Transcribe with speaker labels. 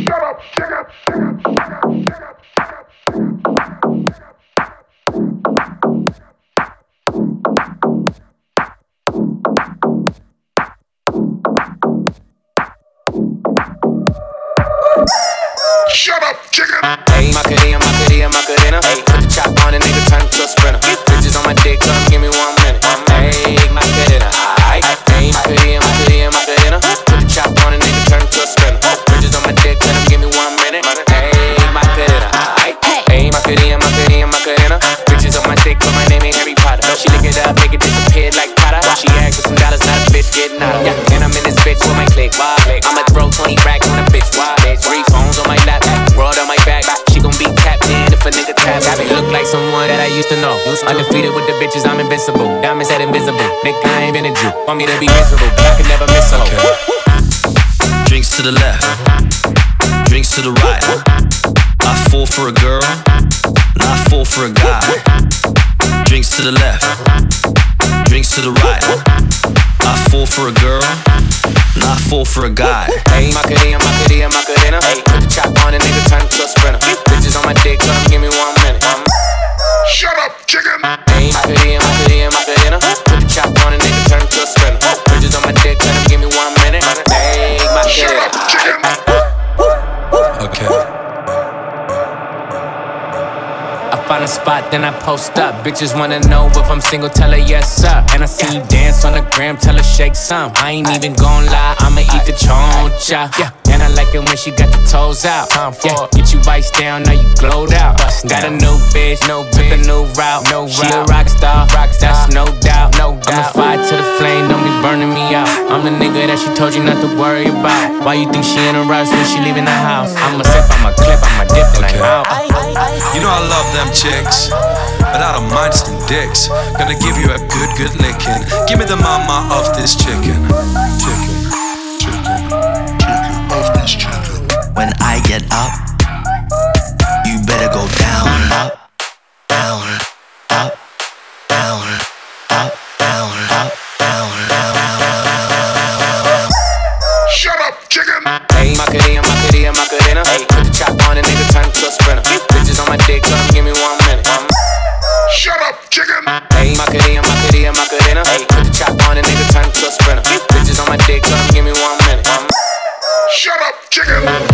Speaker 1: Shut up, chicken.
Speaker 2: Hey, Macarena, hey, put the chop on a nigga, turn to a sprinter. Bitches on my dick, come give me 1 minute. Hey, Macarena, aight. Hey, Macarena, put the chop on a nigga, turn to a sprinter. Bitches on my dick, come give me 1 minute. Hey, Macarena, aight. Hey, Macarena, bitches on my dick, put my name in Harry Potter. She lick it up, make it disappear like Potter. She asked for some dollars, not a bitch getting out of. Yeah, and I'm in this bitch with my click. I'ma throw 20 racks on a bitch. Why? 3 phones on my lap, broad on my back. She gon' be tapped in if a nigga tap. Look like someone that I used to know. Undefeated with the bitches, I'm invincible. Diamonds said invisible. Nigga, I ain't been a Jew. Want me to be miserable, but I can never miss a hoe.
Speaker 3: Drinks to the left, drinks to the right. I fall for a girl, and I fall for a guy. Drinks to the left, drinks to the right. I fall for a girl, and I fall for a guy.
Speaker 2: Hey, Macarena, hey, put the chop on a nigga, turn to a sprinter. Bitches on my dick, come give me 1 minute.
Speaker 1: Shut up, chicken.
Speaker 2: Hey, Macarena, put the chop on a nigga, turn to a sprinter. Bitches on my dick, come give me 1 minute. Hey,
Speaker 1: Shut up, chicken.
Speaker 3: Okay.
Speaker 2: I find a spot, then I post up. Bitches wanna know if I'm single, tell her yes, sir. And I see you dance on the gram, tell her shake some. I ain't even gon' lie, I'ma eat the choncha. Yeah. And I like it when she got the toes out. Yeah. Get you iced down, now you glowed out. Got a new bitch, took a new route. She a rock star, that's no doubt. I'ma fight to the flame, don't be burning me out. I'm the nigga that she told you not to worry about. Why you think she in a rush when she leaving the house? I'ma sip, I'ma clip, I'ma dip, and I'm out.
Speaker 3: You know I love them chicks, but I don't mind some dicks. Gonna give you a good licking. Give me the mama of this chicken.
Speaker 4: When I get up, you better go down, up, down, up, down, up, down, up, down, down, down.
Speaker 1: Shut up, chicken.
Speaker 2: Hey, Macarena, hey, put the chop on a nigga, turn to a sprinter. Bitches on my dick, come give me 1 minute.
Speaker 1: Shut up, chicken.
Speaker 2: Hey, Macarena, hey, put the chop on a nigga, turn to a sprinter. Bitches on my dick, come give me 1 minute.
Speaker 1: Shut up, chicken.